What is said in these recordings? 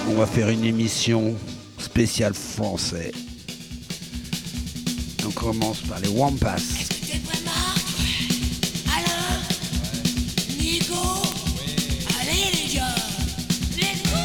On va faire une émission spéciale français. On commence par les Wampas. Est-ce que t'es prêt, Marc? Alain? Nico? Allez, les gars! Let's go!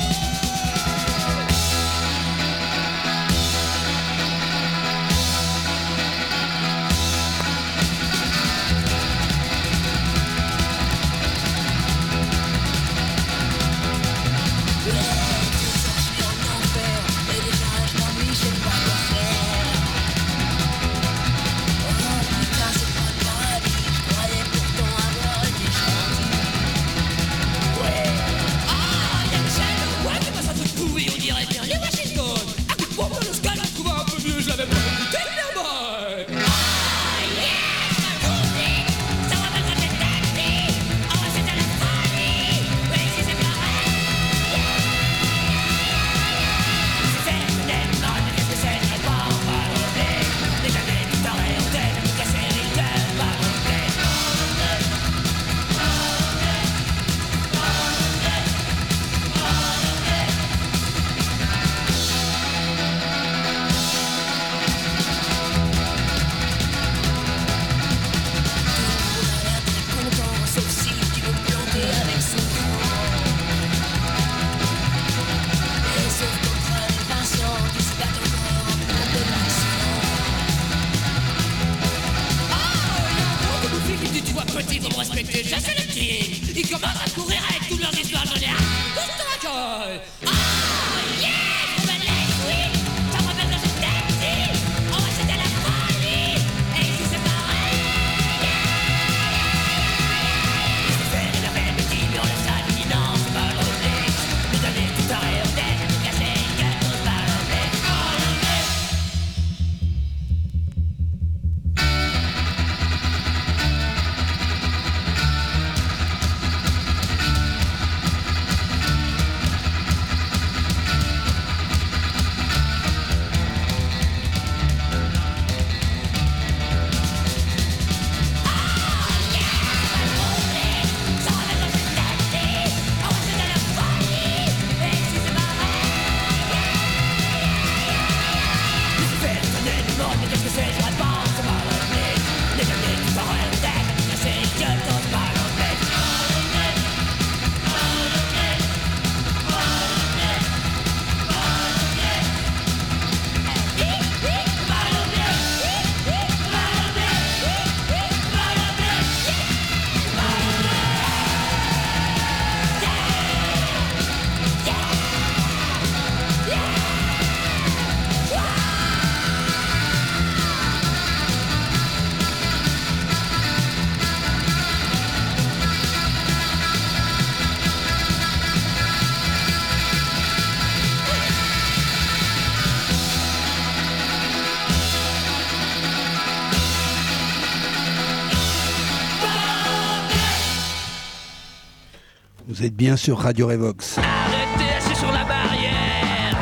Vous êtes bien sur Radio Revox. Arrêtez, assis sur la barrière.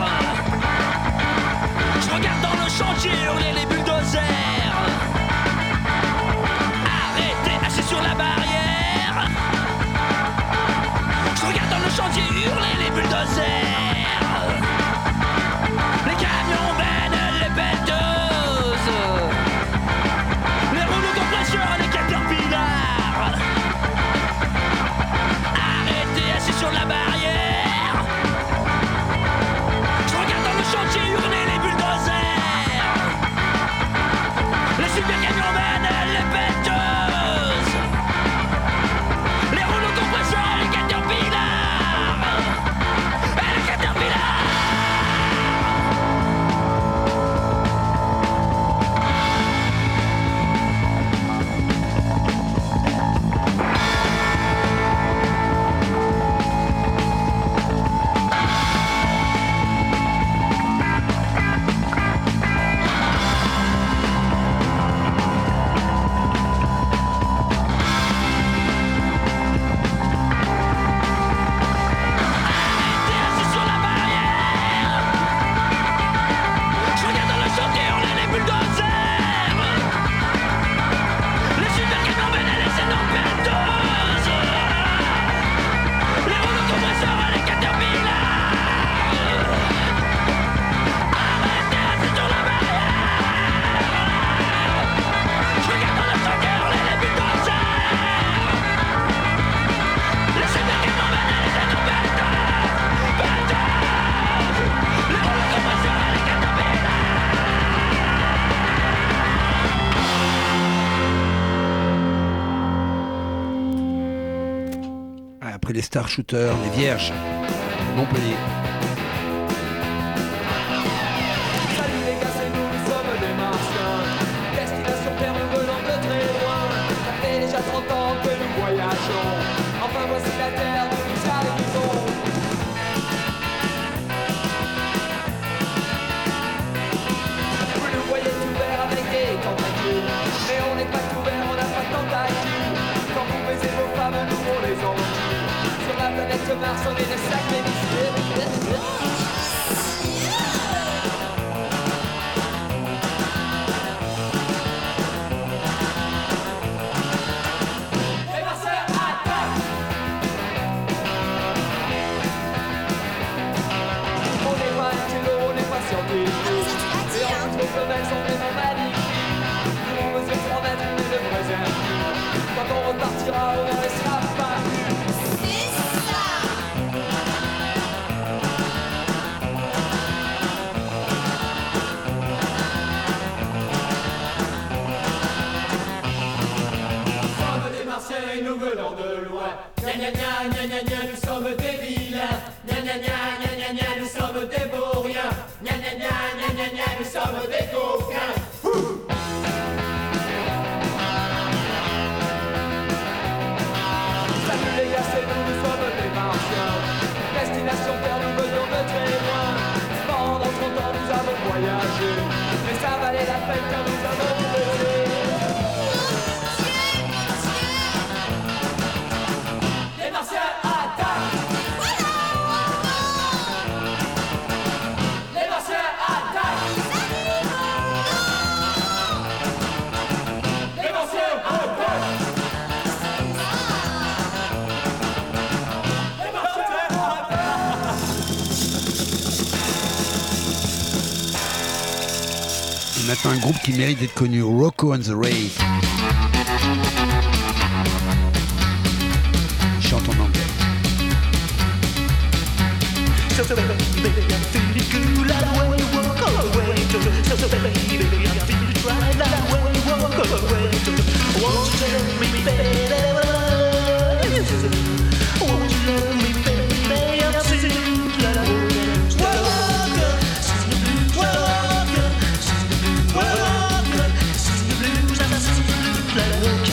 Je regarde dans le chantier hurler les bulldozers. Arrêtez, assis sur la barrière. Je regarde dans le chantier hurler les bulldozers. Les camions bennent, les pelleteuses. Les rouleaux compresseurs, les caterpillars. Arrêtez, assis sur la barrière. les Star Shooters, les Vierges, Montpellier. Salut les gars, c'est nous, nous sommes des martiens. Destination Terre, nous venons de très loin. Ça fait déjà 30 ans que nous voyageons. Enfin voici la Terre, nous nous arrivons. Vous nous voyez tout vert avec des tentacules. Mais on n'est pas tout vert, on n'a pas de tentacules. Quand vous baisez vos femmes, nous on les encule. Sur la planète Mars, on est des sacrés missiles. Quand on repartira, on ne laissera pas. C'est ça. Nous sommes des Martiens et nous venons de loin. Gna gna gna gna gna gna, nous sommes des vilains. Gna gna gna gna gna gna, nous sommes des vauriens. Gna gna gna gna gna gna, nous sommes des coquins. Salut les gars, c'est nous, nous sommes des martiens. Destination Terre, nous venons de très loin. Pendant 30 ans, nous avons voyagé. Mais ça valait la peine car nous avons volé. Les martiens attaquent. Les martiens attaquent. Les martiens attaquent. Et maintenant un groupe qui mérite d'être connu, Rocco and the Rave. Ils chantent en anglais. So baby, I'm feeling good like when you walk away. So baby, I'm feeling right like when you walk away. Won't you let me, baby? Won't you let me, baby? I'm singing like a walker, singing the blues, walker, singing the blues, walker, singing the blues, I'm singing the blues like a walker.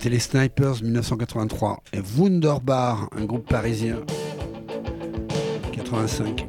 C'était les Snipers 1983 et Wunderbar, un groupe parisien 85.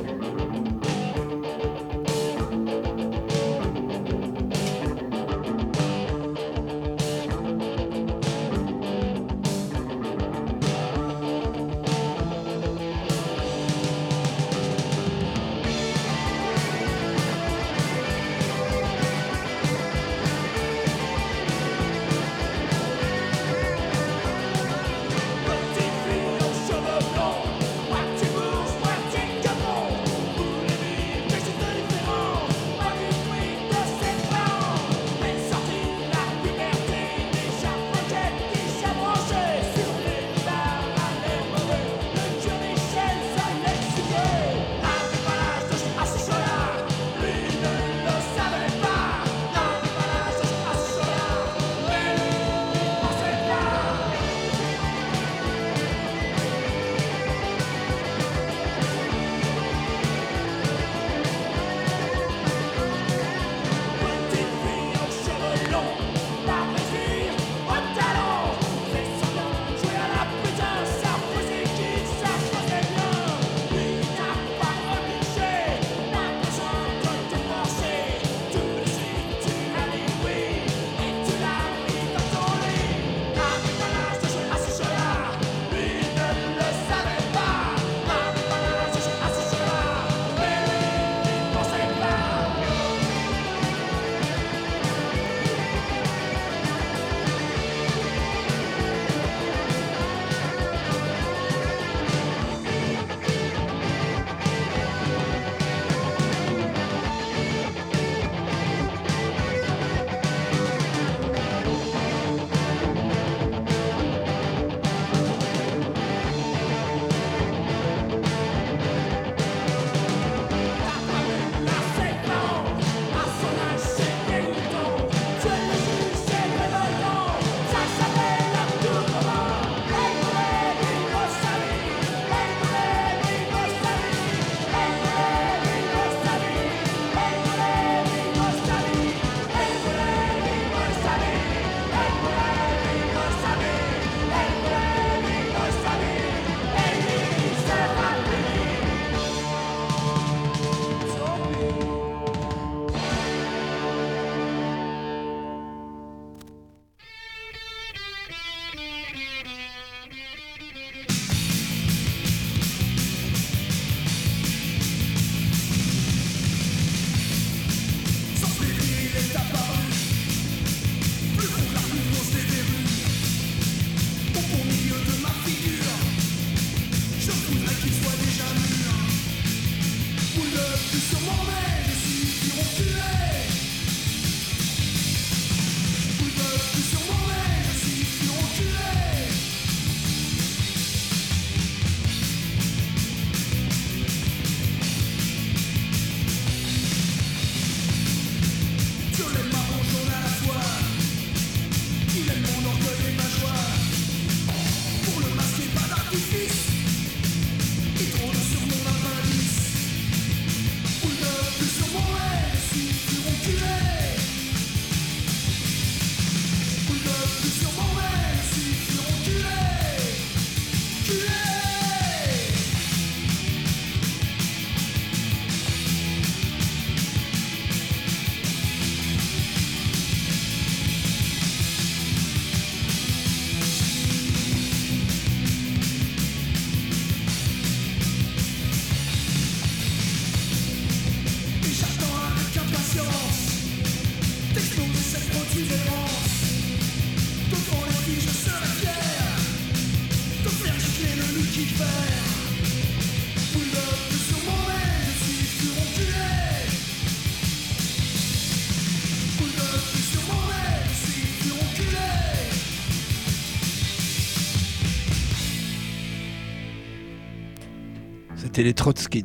C'était les Trotskits.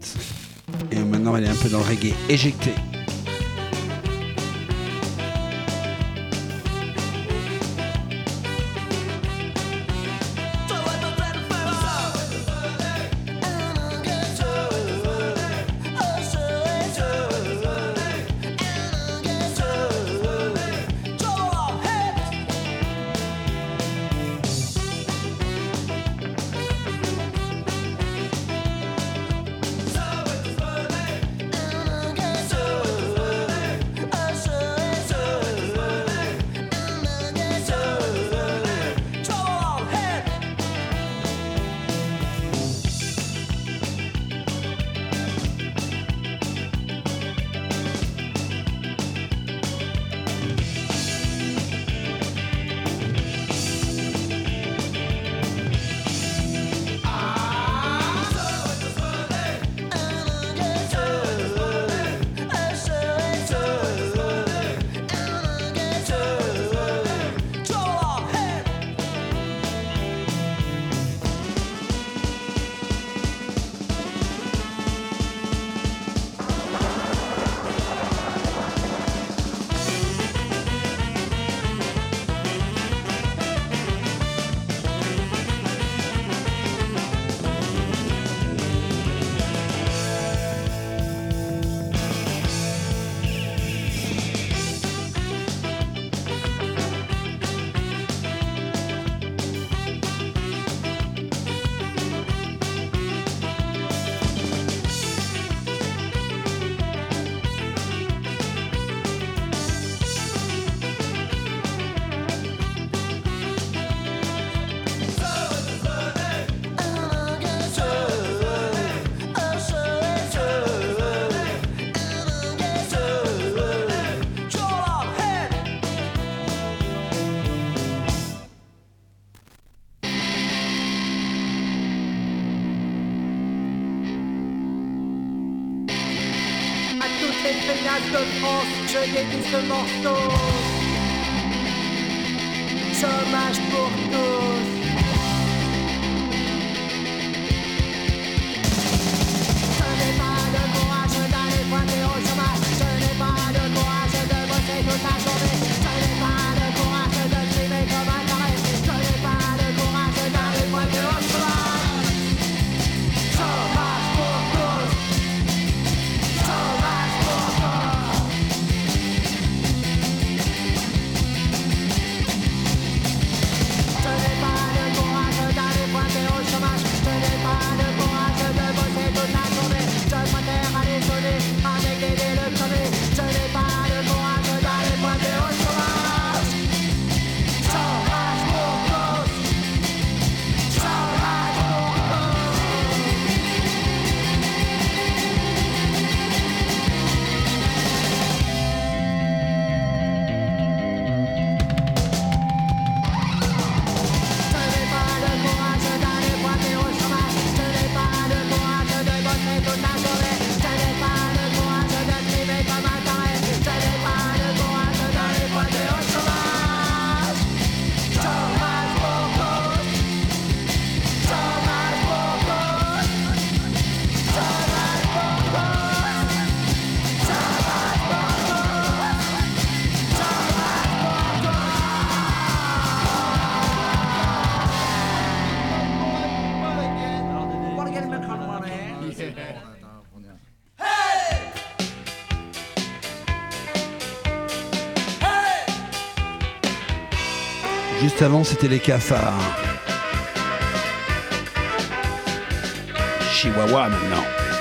Et maintenant, elle est un peu dans le reggae. Éjecté. Stade de France, je dédie ce morceau. Chômage pour tous. Je n'ai pas de courage d'aller pointer au chômage. Je n'ai pas de courage de bosser toute la journée. Je n'ai pas de courage de trimer comme un taré. Je n'ai pas de courage d'aller pointer au chômage. Chômage pour tous. Chômage pour tous. Je n'ai pas de courage d'aller pointer au chômage. Je n'ai pas de courage de bosser toute la journée. Je préfère aller sonner avec des électroniques. Je n'ai pas de courage d'aller pointer au chômage. Chômage pour tous. Chômage pour Je n'ai pas de courage d'aller pointer au chômage. Je n'ai pas de courage de bosser toute la journée. Je n'ai pas de courage de trimer comme un taré. Je n'ai pas de courage d'aller pointer au chômage. Chômage pour tous. Chômage pour tous. Chômage pour tous. Chômage pour tous. Chômage pour Juste avant, c'était les cafards. Chihuahua maintenant.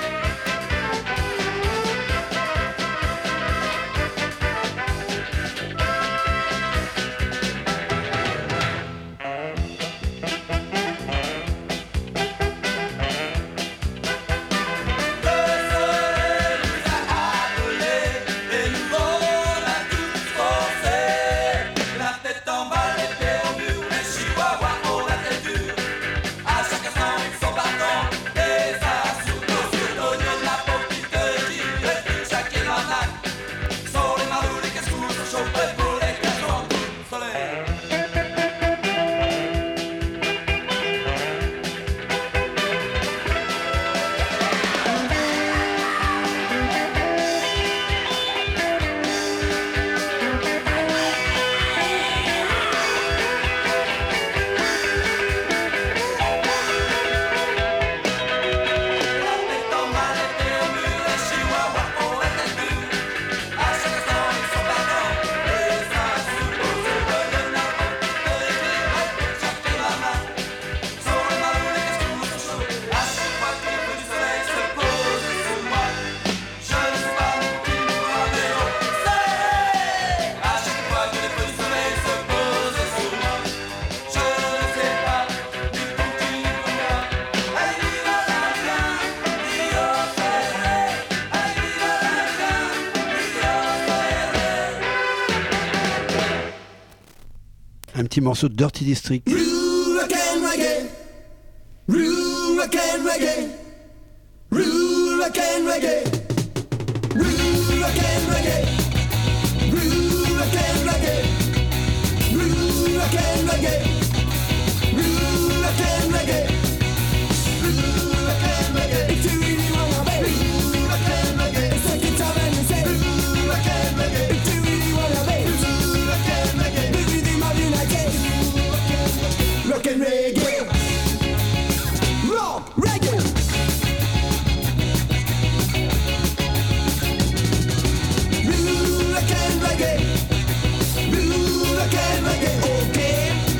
Un petit morceau de Dirty District. Rock and reggae. Rock and reggae. Rock and reggae. Rock and reggae. Rock and reggae. Rock and reggae. Rock and reggae. Rock and reggae. If you really wanna be rock and reggae, it's like it's all and you say rock and reggae. If you really wanna be rock and reggae, baby, they might be like it. Rock and reggae. Rock reggae. Rock and reggae. Rock and reggae. Okay.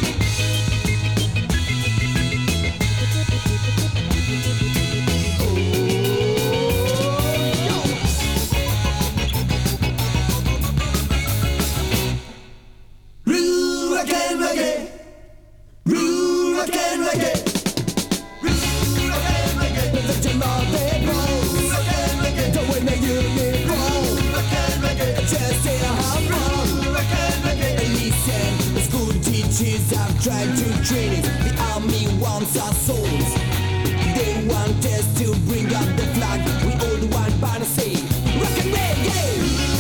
Rock and reggae. Rock and reggae. Rock and reggae. The gem of the bones. Rock and reggae. The way that you live on. Rock and reggae. Just say how wrong. Rock and reggae. Listen, the school teachers have tried to train it. The army wants our souls. They want us to bring up the flag. We all want to say rock and reggae.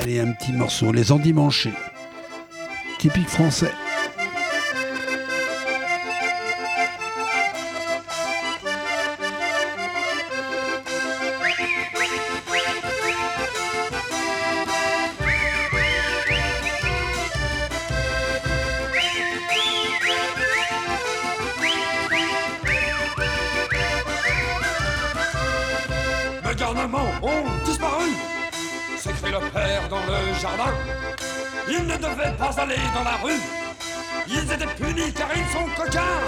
Allez, un petit morceau, Les Endimanchés. Typique français. Mes garnements ont disparu, s'écrie le père dans le jardin. Ils ne devaient pas aller dans la rue, ils étaient punis car ils sont coquins.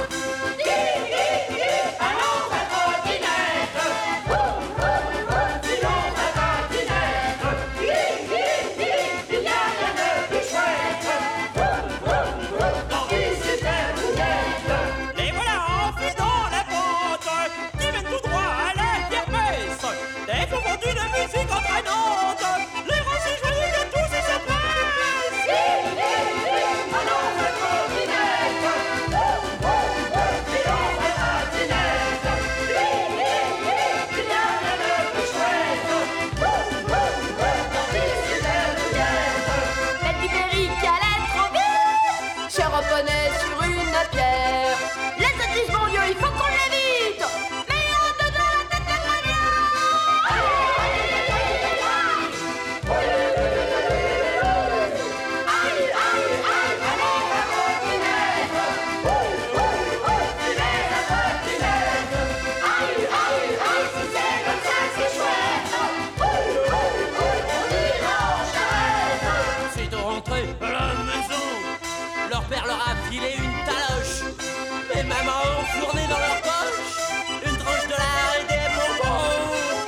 Les voilà enfilés dans la pente, qui mènent tout droit à la kermesse. Des fous vendus de musique entraînante, les rangs si joyeux que tous ils se pressent. Allons à trottinette, filons à trottinette. Il n'y a rien de plus chouette, quand ils s'y débrouillent. Belle ibérique à la trop vite, cher reponait sur une pierre. Les sottises, mon Dieu, il faut qu'on l'évite. Mais en dedans la tête de Sitôt rentrés à la maison, leur père leur a filé une taloche. Et maman a enfourné dans leur poche une tranche de lard et des bonbons.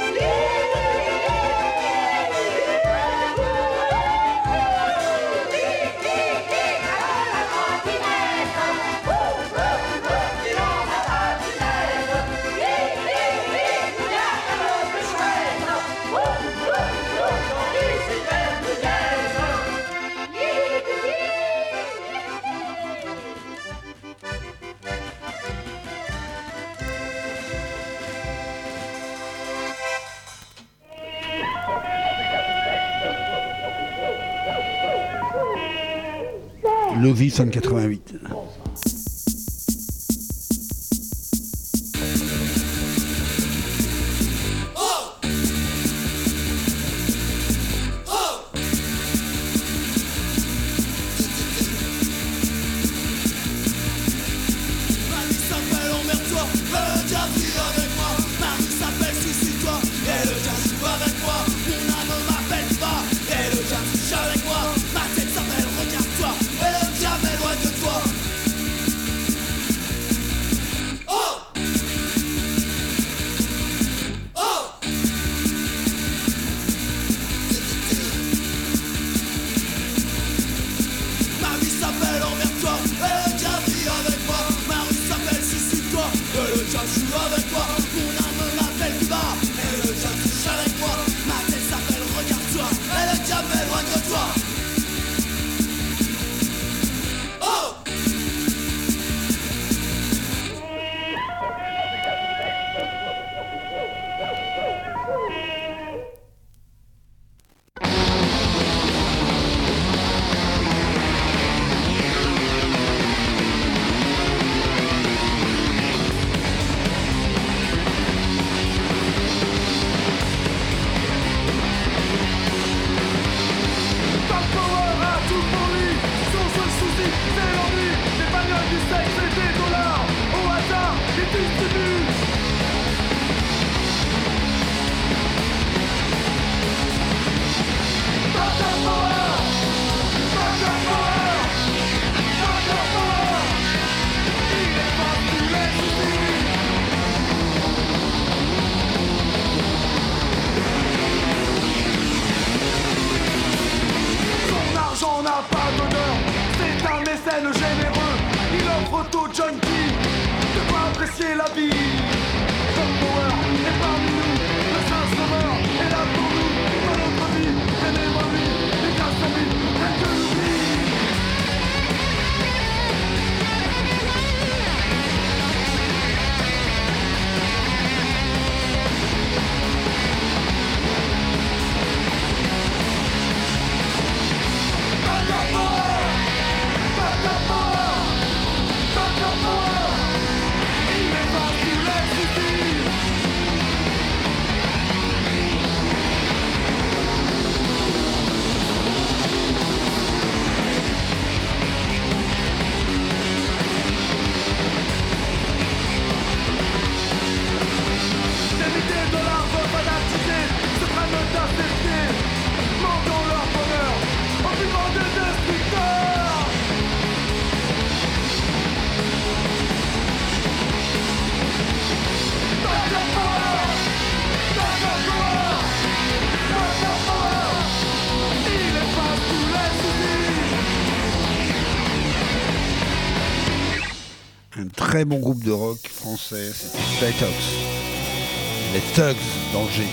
Lovi 188. Marie s'appelle emmerde-toi, le diable vit avec moi. Marie s'appelle suicide-toi, et le diable joue avec moi. Mon âme m'appelle pas, et le diable touche avec moi. Ma tête s'appelle regarde-toi, et le diable est loin de toi. Oh! Oh! Ma vie s'appelle emmerde-toi, et le diable vit avec moi. Ma rue s'appelle suicide-toi, et le diable joue avec moi. Mon âme m'appelle bas, et le diable touche avec moi. Ma tête s'appelle regarde-toi, et le diable est loin de toi. Oh! Son argent n'a pas d'honneur, c'est un mécène généreux. Il offre aux junkies de quoi apprécier la vie. Tom Power est parmi nous, le saint sauveur est là pour nous. Dans notre vie, tenez-moi lui, et grâce à lui, rien que l'oubli. très bon groupe de rock français, c'était les Thugs. Les Thugs d'Angers.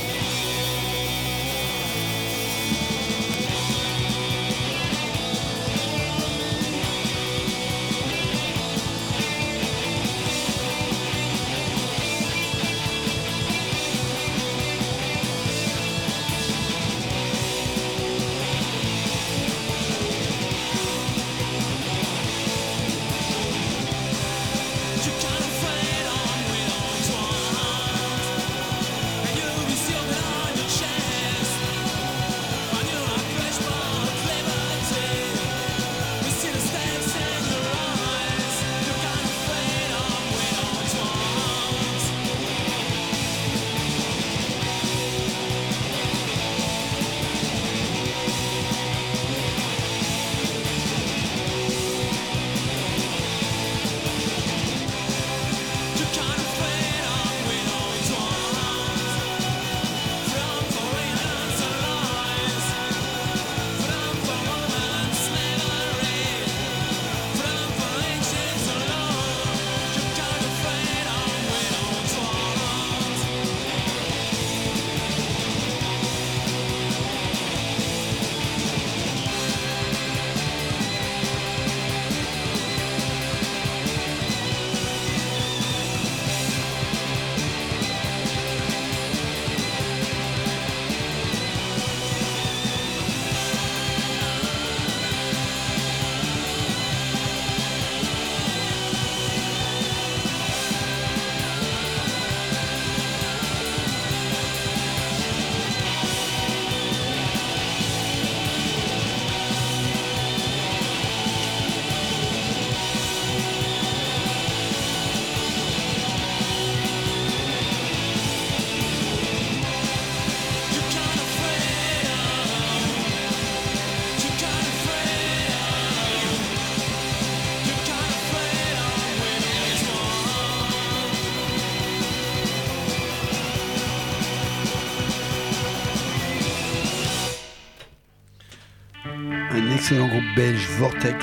Un excellent groupe belge, Vortex,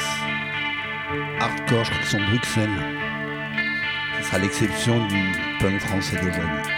hardcore, je crois qu'ils sont de Bruxelles. Ce sera l'exception du punk français d'aujourd'hui.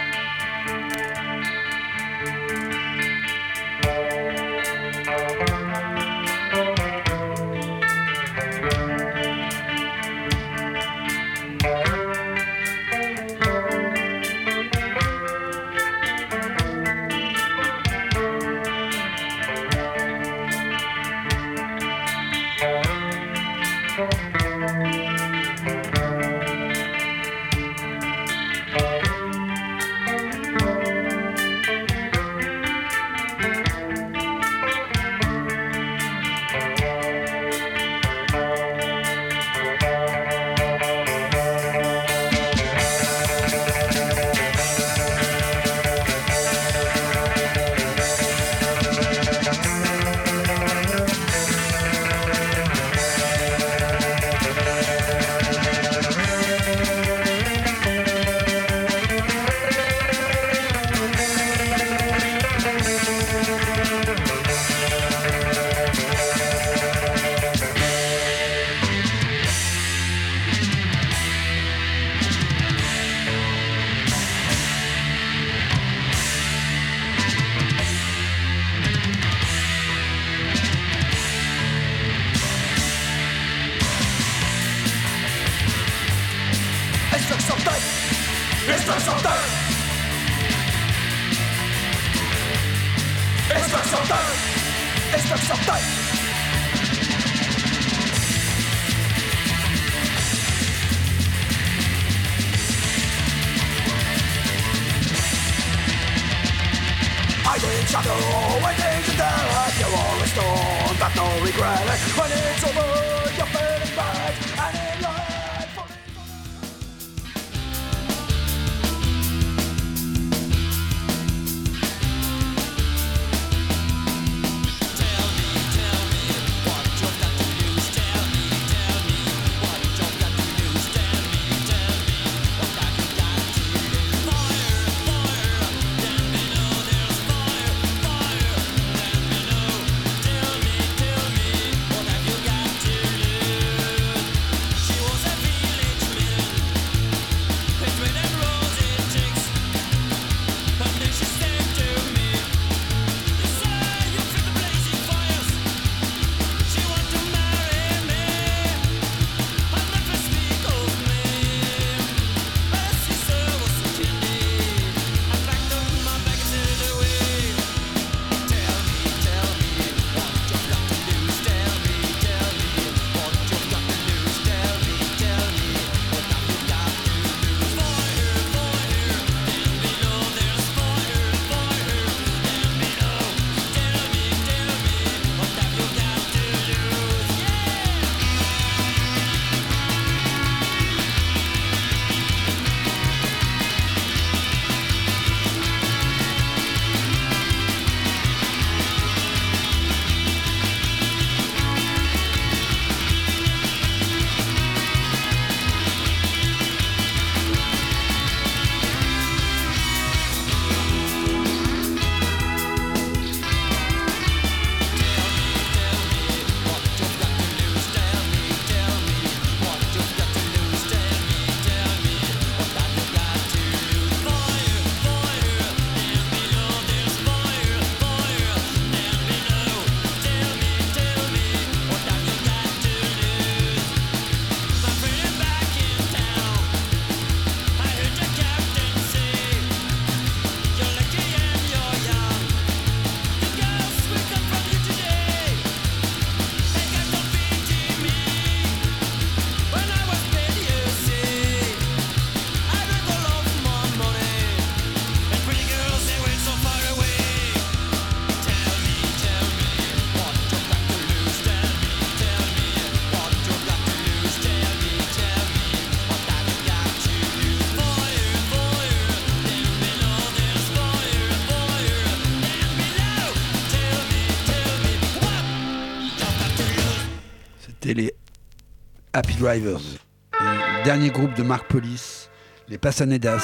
C'était les Happy Drivers. Et le dernier groupe de Mark Police, les Passanedas.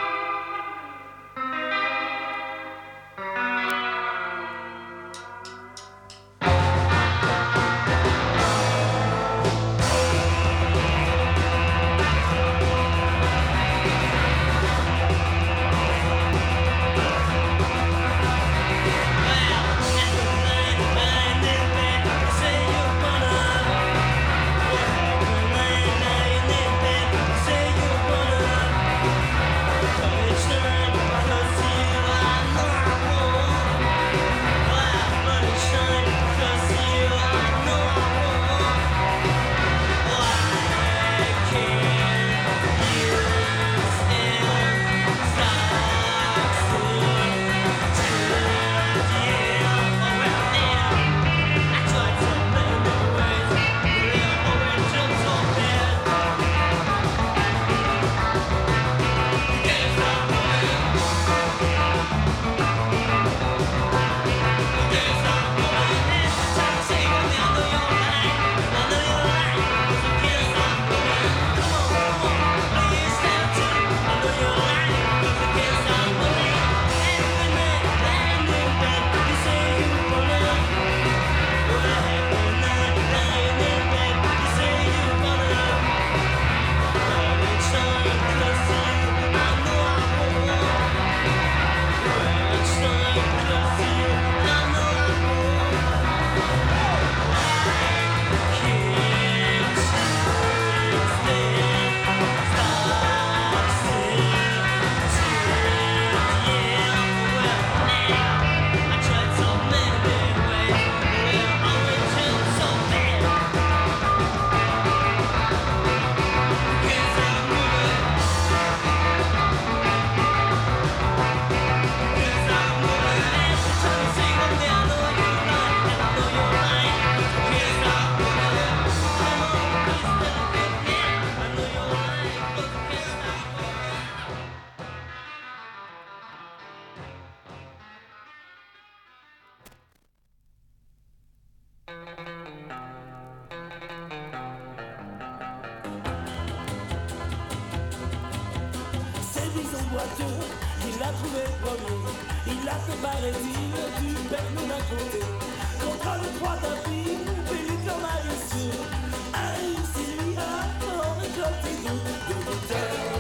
Il l'a trouvé premier, il l'a préparé du bec nous d'un côté. Contre le 3 tapis, Philippe leur malicieux a réussi lui à en récolter de l'auteur.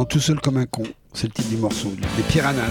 tout seul comme un con. C'est le titre du morceau. Les Piranhas.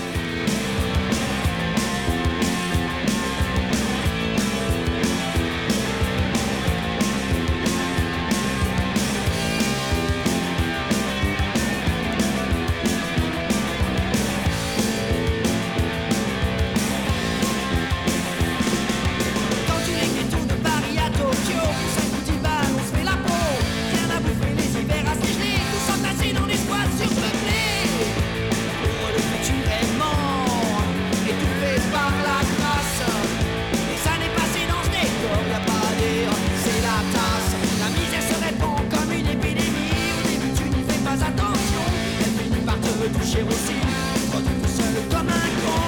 Quand tu les tours de Paris à Tokyo, pour 5 ou 10 balles, on se fait la peau. Rien à bouffer, les hivers à se geler, tous entassés dans des squats surpeuplés. Pour le futur est mort, étouffé par la crasse. Les années passées dans ce décor, y'a pas à dire, c'est la tasse. La misère se répand comme une épidémie. Au début, tu n'y fais pas attention, elle finit par te toucher aussi. Quand tu es seul comme un con.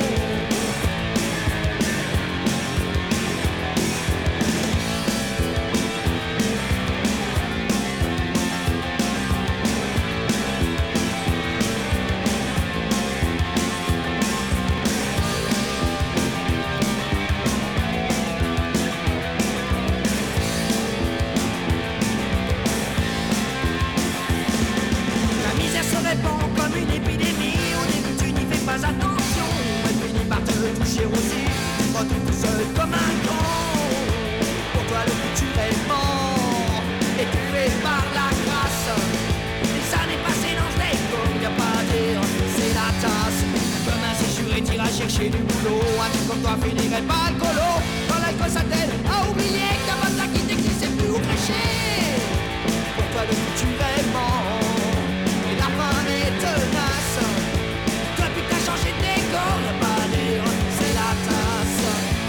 La misère se répand comme une épidémie. Au début tu n'y fais pas attention, elle finit par te toucher aussi. Tu te retrouves tout seul comme un con. Pour toi le futur est mort, étouffé par la grâce. Les années passées dans ce décor, y'a pas à dire, c'est la tasse. Comme un séjour et t'iras chercher du boulot. Un type comme toi finirait pas le colo. Quand l'alcool s'attelle à oublier que t'as pas de qui t'es qui sait plus où cracher. Pour toi le futur est mort et la fin est tenace. Depuis que t'as changé de décor, y'a pas à dire, c'est la tasse.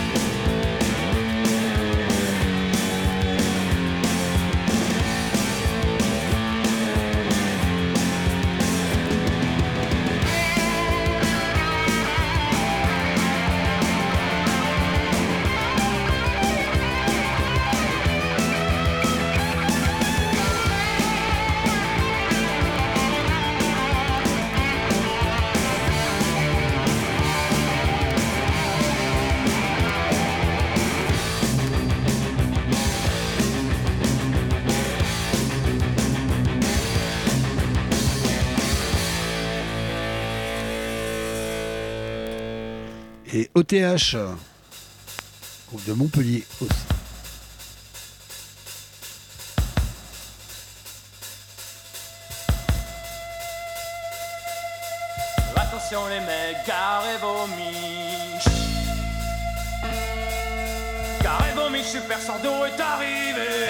Et OTH, groupe de Montpellier aussi. Attention les mecs, garez vos miches. Garez vos miches, Super Sando est arrivé.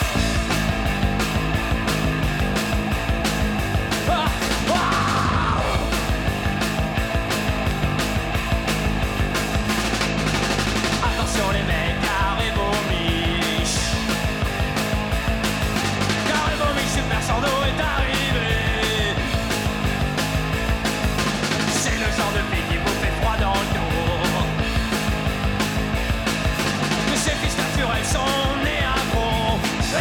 Ah, ah. Attention les mecs, garez vos miches. Garez vos miches, Super Sando est arrivé. C'est le genre de fille qui vous fait froid dans le dos. Mais ces fils naturels sont nés à gros.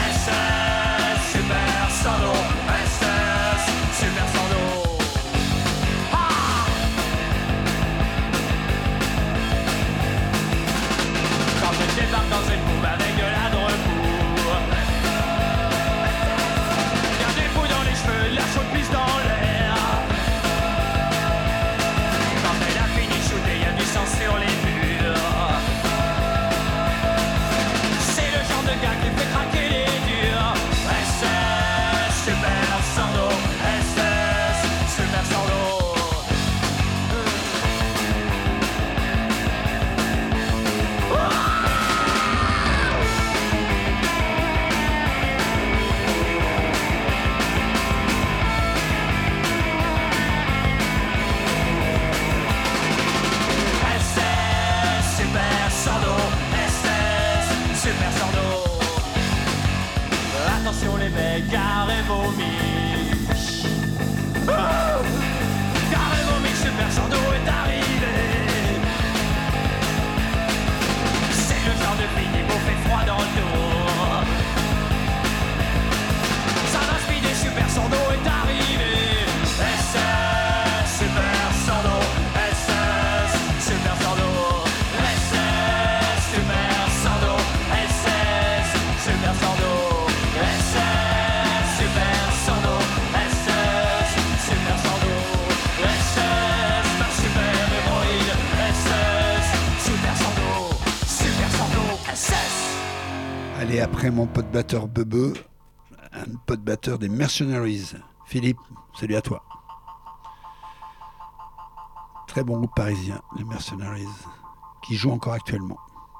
Et après mon pote batteur Bebe, un pote batteur des Mercenaries. Philippe, salut à toi. Très bon groupe parisien, les Mercenaries, qui joue encore actuellement.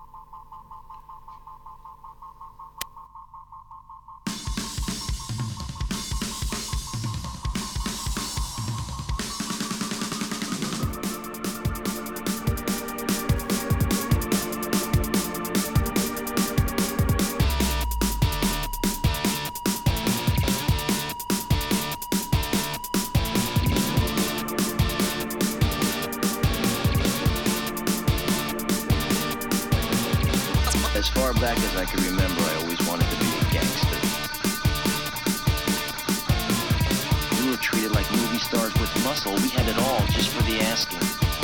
As far back as I can remember, I always wanted to be a gangster. We were treated like movie stars with muscle. We had it all just for the asking.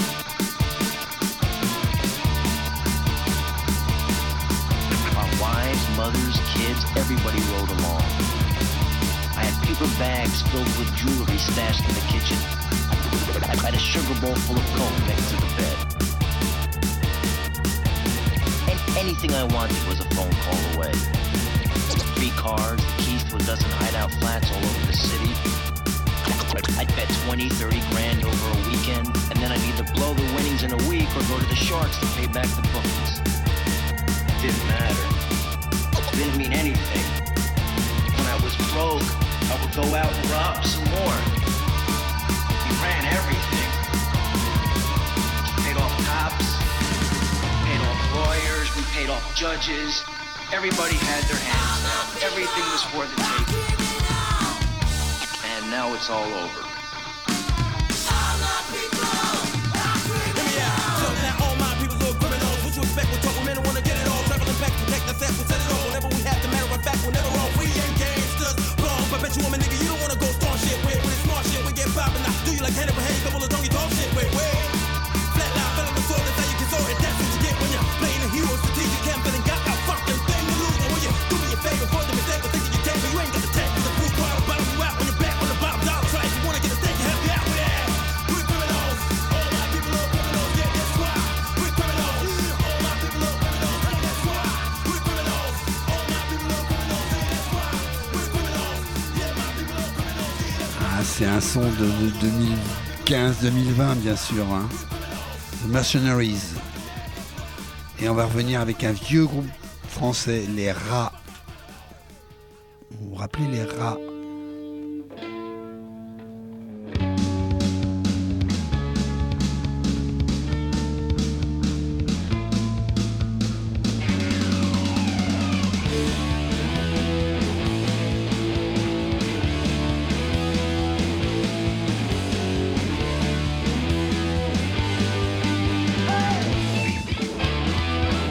Our wives, mothers, kids, everybody rode along. I had paper bags filled with jewelry stashed in the kitchen. I had a sugar bowl full of coke next to the bed. Anything I wanted was a phone call away. 3 cars, the keys to a dozen hideout flats all over the city. I'd bet 20, 30 grand over a weekend, and then I'd either blow the winnings in a week or go to the Sharks to pay back the bookies. Didn't matter. Didn't mean anything. When I was broke, I would go out and rob some more. We ran everything. Paid off cops. Paid off lawyers, we paid off judges. Everybody had their hands up. Everything was for the taking. And now it's all over. Hear me out. So now all my people are criminals. What you expect with trouble men who wanna get it all? Traveling back to protect ourselves, we'll set it all. Whenever we have the matter of fact, we're never wrong. We ain't gangsters, wrong. But bet you woman nigga, you don't wanna go strong shit. With smart shit, we get poppin'. Now do you like Hannibal Hayes, double the donkey talk shit? Wait. Flatline, fell on the sword, that's how you can sword it. That's what you get when you're playing a hero, strategic campaign, and got a fucking thing to lose. And when you do me a favor for the mistake, but thinking you take me, you ain't got the tech. Cause the food crowd will bottom you out when you're back on the bottom dollar. Try if you wanna get a steak and help you out with that. We're criminals, all my people are criminals, yeah, that's why. We're criminals, all my people are criminals, and that's why. We're criminals, all my people are criminals, and that's why. We're criminals, yeah, my people are criminals, yeah, that's why. Ah, c'est un son de 2015-2020 bien sûr, hein. The Mercenaries. Et on va revenir avec un vieux groupe français, les Rats. Vous vous rappelez les Rats?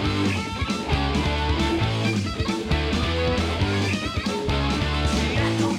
Don't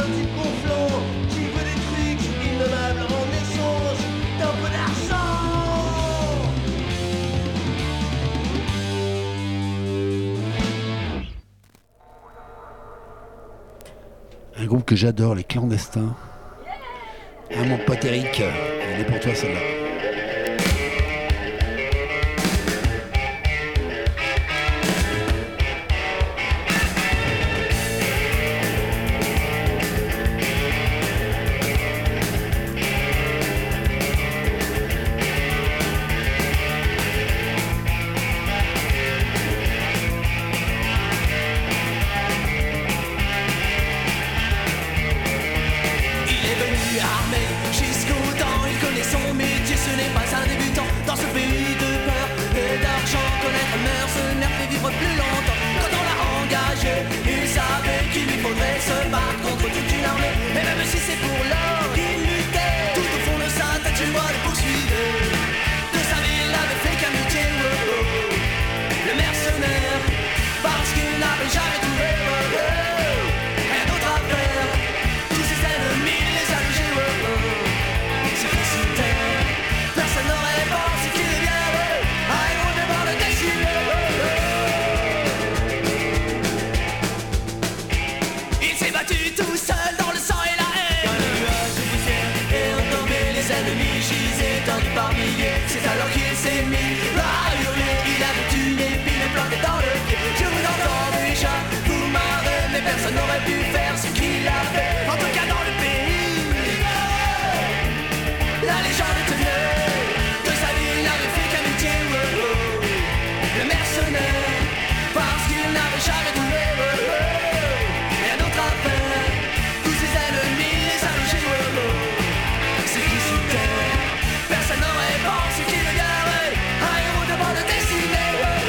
un type gonflant qui veut des trucs innommables en échange d'un peu d'argent. Un groupe que j'adore, les Clandestins. Ah mon pote Eric, elle est pour toi celle-là. Plus longtemps, quand on l'a engagé, il savait qu'il lui faudrait se battre contre toute une armée. Et même si c'est pour l'or qu'il luttait, tout au fond de sa tête, tu vois, le poursuivait. De sa vie, il n'avait fait qu'un métier, le mercenaire, parce qu'il n'avait jamais trouvé rien d'autre à faire. Tous ses ennemis les a logés, c'est qui sous terre. Personne n'aurait pensé qu'il viendrait à héros devant le décimer. Tout seul dans le sang et la haine. Quand le nuage de poussière est retombé, les ennemis gisaient tendus par milliers. C'est alors qu'il s'est mis à hurler. Il avait une épine plantée dans le pied. Je vous entends déjà, vous marrez, mais personne n'aurait pu faire ce qu'il a fait. En tout cas dans le pays, la légende tenait. De sa vie il n'avait fait qu'un métier, le mercenaire, parce qu'il n'avait jamais trouvé rien d'autre à faire. Personne n'aurait pensé qu'il deviendrait un héros devant le destiné.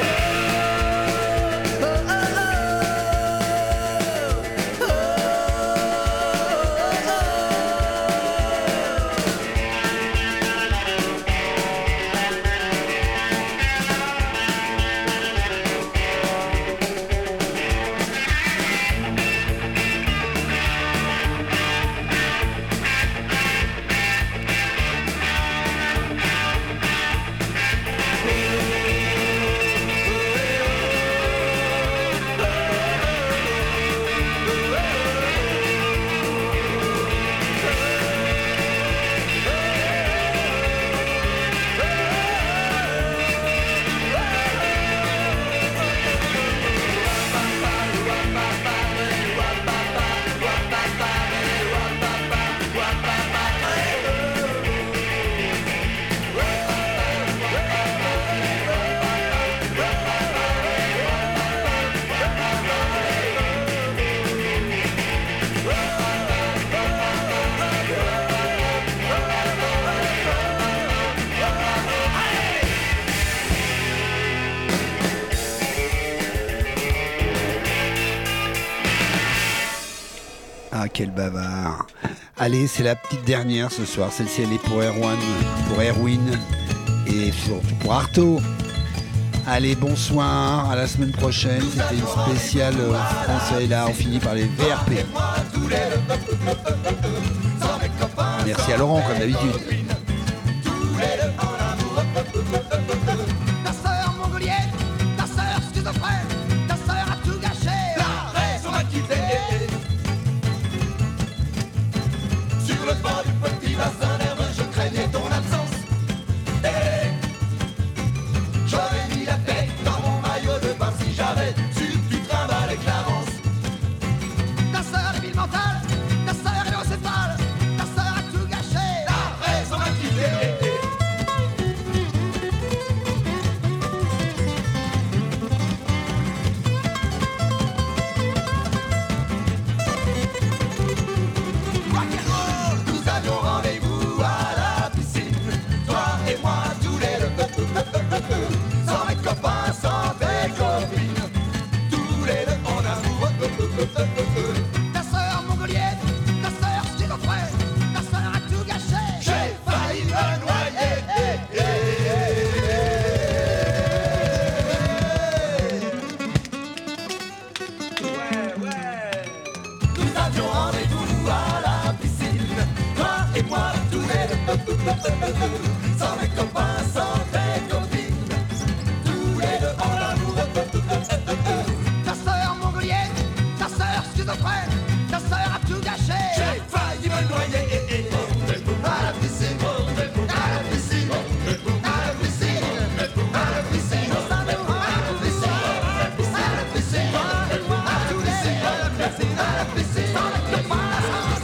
Ah, quel bavard. Allez, c'est la petite dernière ce soir. Celle-ci, elle est pour Erwin et surtout pour Artaud. Allez, bonsoir, à la semaine prochaine. C'était une spéciale français. Là, on finit par les VRP. Merci à Laurent, comme d'habitude. Ta sœur mongolienne, ta sœur schizophrène, ta sœur a tout gâché. La raison m'a quitté. Sur le banc du petit bassin nerveux, je craignais ton absence. J'aurais mis la tête dans mon maillot de bain si j'avais su que tu trimballais Clarence. Ta sœur est ville mentale, ta sœur est l'océphale, ta sœur a tout gâché. La raison m'a quitté. Nous avions rendez-vous à la piscine, toi et moi tous les deux, sans mes copains, sans tes copines, tous les deux en amour. Ta sœur mongolienne, ta sœur schizophrène, ta sœur a tout gâché. J'ai failli me noyer. Nous avions rendez-vous moi tous les deux. Sans mes copains, sans tes copines, tous les deux en amoureux. Ta sœur mongolienne, ta sœur schizophrène, ta sœur a tout gâché. J'ai failli me noyer à la piscine, à la piscine, à la piscine, à la piscine, à la piscine, à la piscine, à la piscine, à la piscine, à la piscine, à la piscine.